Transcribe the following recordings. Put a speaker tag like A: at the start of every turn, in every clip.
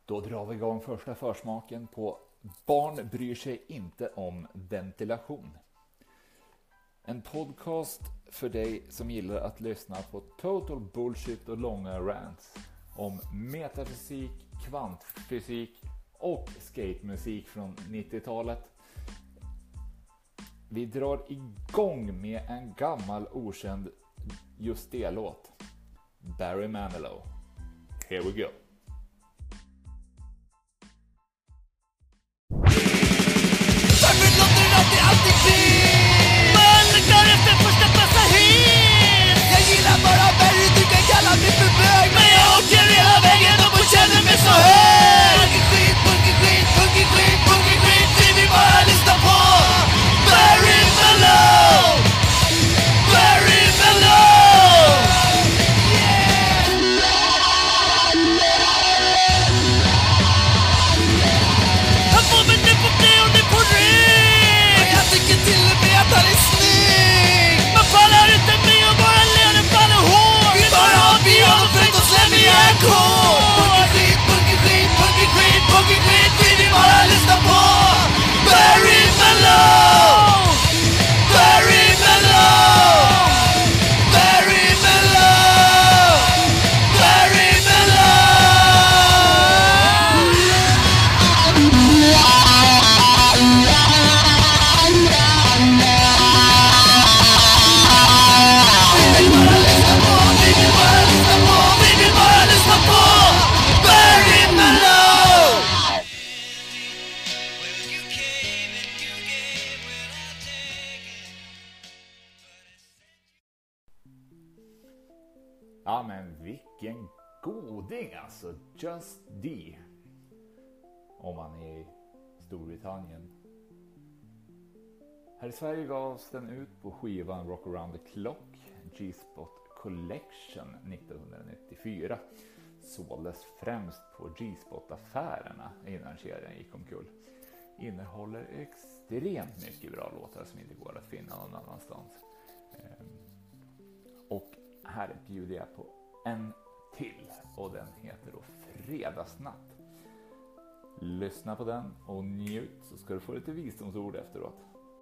A: Då drar vi igång första försmaken på Barn bryr sig inte om ventilation. En podcast för dig som gillar att lyssna på total bullshit och långa rants om metafysik, kvantfysik och skatemusik från 90-talet. Vi drar igång med en gammal okänd just det-låt. Barry Manilow. Here we go.
B: Jag gillar bara Barry, du kan kalla mig för bög, men jag åker hela vägen upp och känner mig så hög. Punkig skit, vi vill bara lyssna på Barry Manilow. Barry Manilow. Han får mig nu på knä och nu på rygg, och jag tycker till och med att han är snygg. Man pallar inte med och bara leder faller hårt. Vi bara har biografet och slämmer järnkår. Punkig skit, vi vill bara lyssna på Barry Manilow. Barry Manilow. Barry Manilow. Barry
A: Ja, men vilken goding alltså. Just D. Om man är i Storbritannien. Här i Sverige gavs den ut på skivan Rock Around the Clock, G-Spot Collection 1994. Såldes främst på G-Spot-affärerna innan kedjan gick omkull. Innehåller extremt mycket bra låtar som inte går att finna någon annanstans. Och här bjuder jag på en till, och den heter då Fredagsnatt. Lyssna på den och njut, så ska du få lite visdomsord efteråt.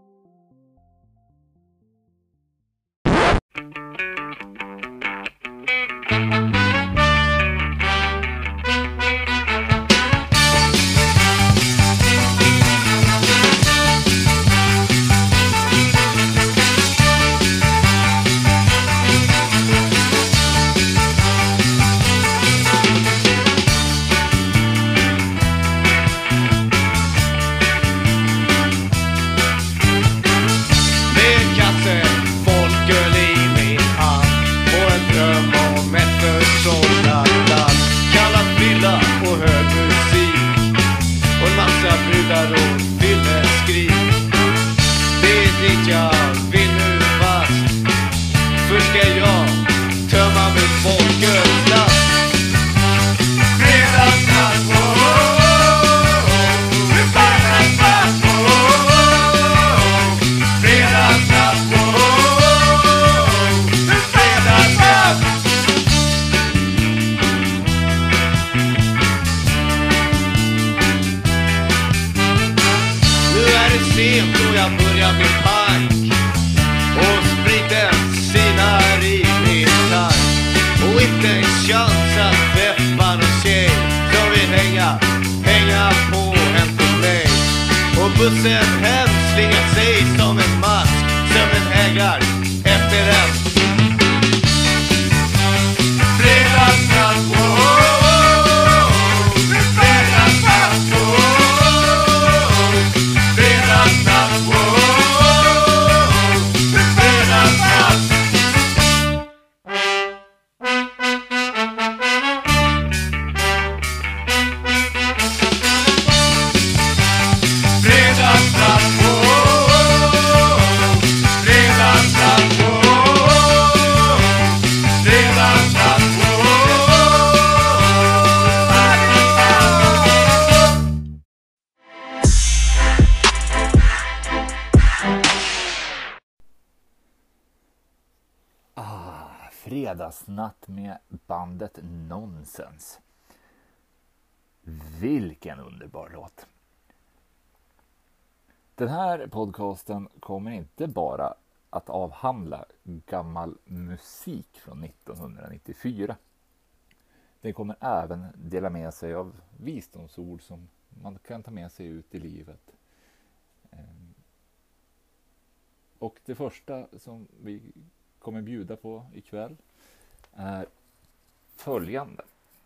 B: bussen hem slingar sig som en mask, sömnen hägar efter en fredagsnatt. Fredagsnatt, fredagsnatt, fredagsnatt.
A: Fredagsnatt med bandet Nonsens. Vilken underbar låt. Den här podcasten kommer inte bara att avhandla gammal musik från 1994. Den kommer även dela med sig av visdomsord som man kan ta med sig ut i livet. Och det första som vi kommer bjuda på ikväll är följande.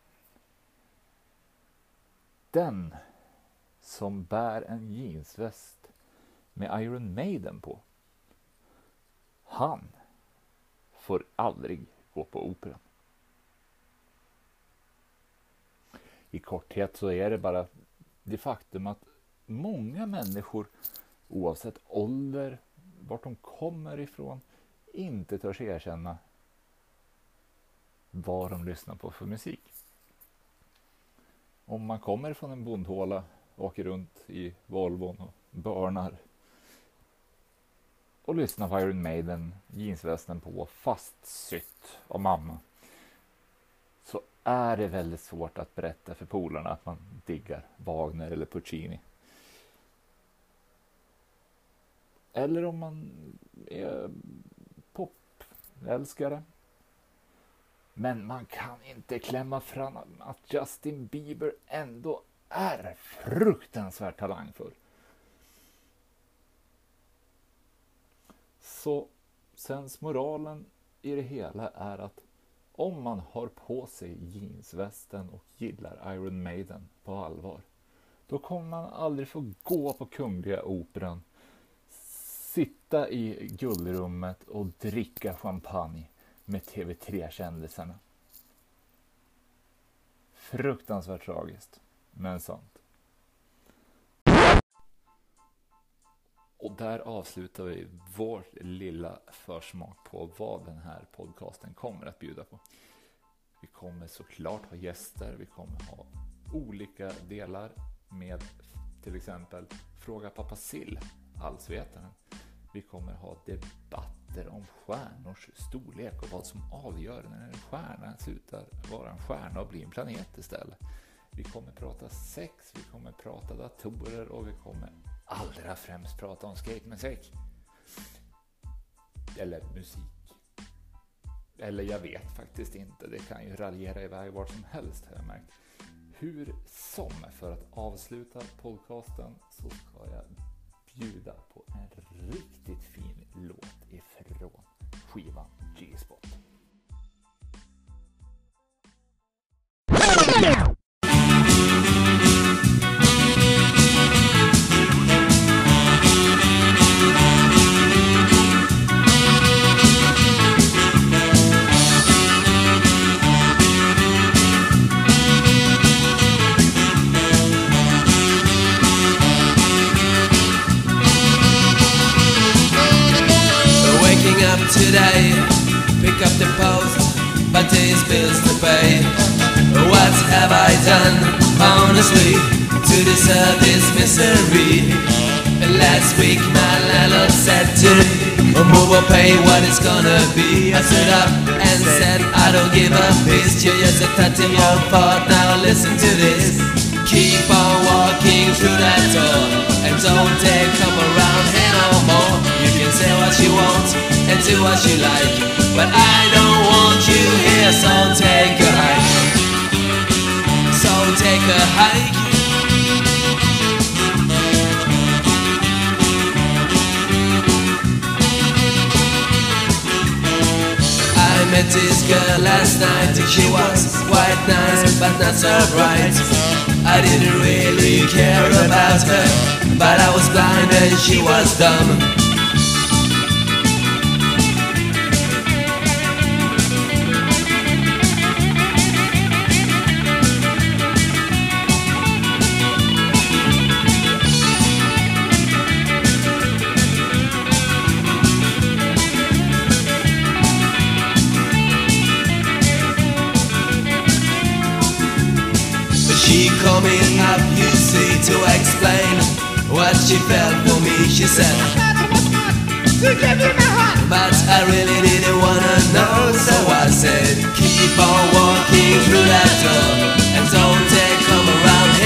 A: Den som bär en jeansväst med Iron Maiden på, han får aldrig gå på operan. I korthet så är det bara det faktum att många människor, oavsett ålder, vart de kommer ifrån, inte törs erkänna vad de lyssnar på för musik. Om man kommer från en bondhåla, åker runt i Volvon och börnar och lyssnar på Iron Maiden, jeansvästen på, fastsytt av mamma, så är det väldigt svårt att berätta för polarna att man diggar Wagner eller Puccini. Eller om man är popälskare. Men man kan inte klämma fram att Justin Bieber ändå är fruktansvärt talangfull. Så sensmoralen i det hela är att om man har på sig jeansvästen och gillar Iron Maiden på allvar, då kommer man aldrig få gå på Kungliga Operan, sitta i guldrummet och dricka champagne med TV3-kändisarna. Fruktansvärt tragiskt, men sant. Och där avslutar vi vår lilla försmak på vad den här podcasten kommer att bjuda på. Vi kommer såklart ha gäster, vi kommer ha olika delar med till exempel Fråga Pappa Sill, allsvetaren. Vi kommer ha debatter om stjärnors storlek och vad som avgör när en stjärna slutar vara en stjärna och blir en planet istället. Vi kommer prata sex, vi kommer prata datorer och vi kommer allra främst prata om skatemusik. Eller musik. Eller jag vet faktiskt inte, det kan ju raljera iväg var som helst har jag märkt. Hur som, för att avsluta podcasten så ska jag bjuda på en riktigt fin låt ifrån skivan G-Spot.
B: Today, pick up the post, but there's bills to pay. What have I done, honestly, to deserve this misery? Last week my landlord said to me, move or pay what it's gonna be. I stood up and said, I don't give a piss, you're just a 13-year-old part, now listen to this. Keep on walking through that door, and don't dare come around here no more. You can say what you want and do what you like, but I don't want you here, so take a hike. So take a hike. I met this girl last night and she was quite nice, but not so bright. I didn't really care about her, but I was blind and she was dumb. She coming up, you see, to explain what she felt for me. She said, to give you my heart, but I really didn't wanna know. So I said, keep on walking through that door, and don't dare come around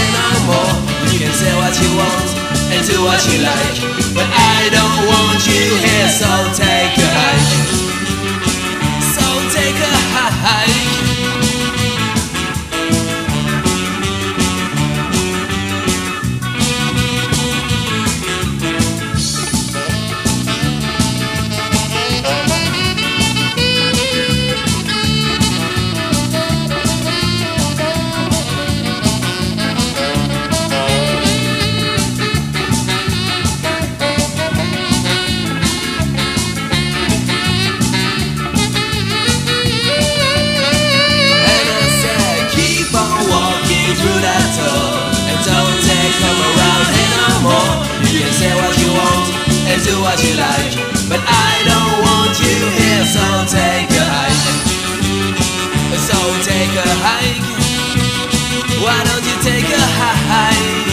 B: what you like, but I don't want you here, so take a hike. So take a hike. Do what you like, but I don't want you here, so take a hike. So take a hike. Why don't you take a hike?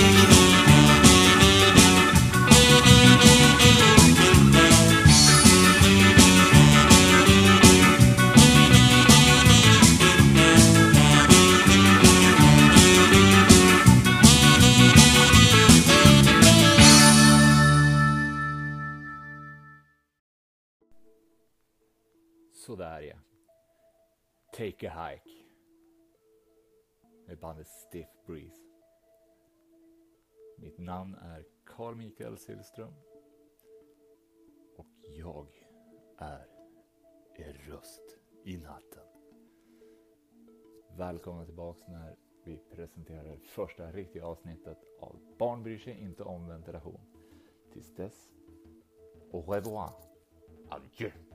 A: Sådär ja. Take a hike. Med bandet Stiff Breeze. Mitt namn är Carl Mikael Sillström. Och jag är er röst i natten. Välkomna tillbaks när vi presenterar första riktiga avsnittet av Barn bryr sig inte om ventilation. Tills dess, au revoir. Adjö.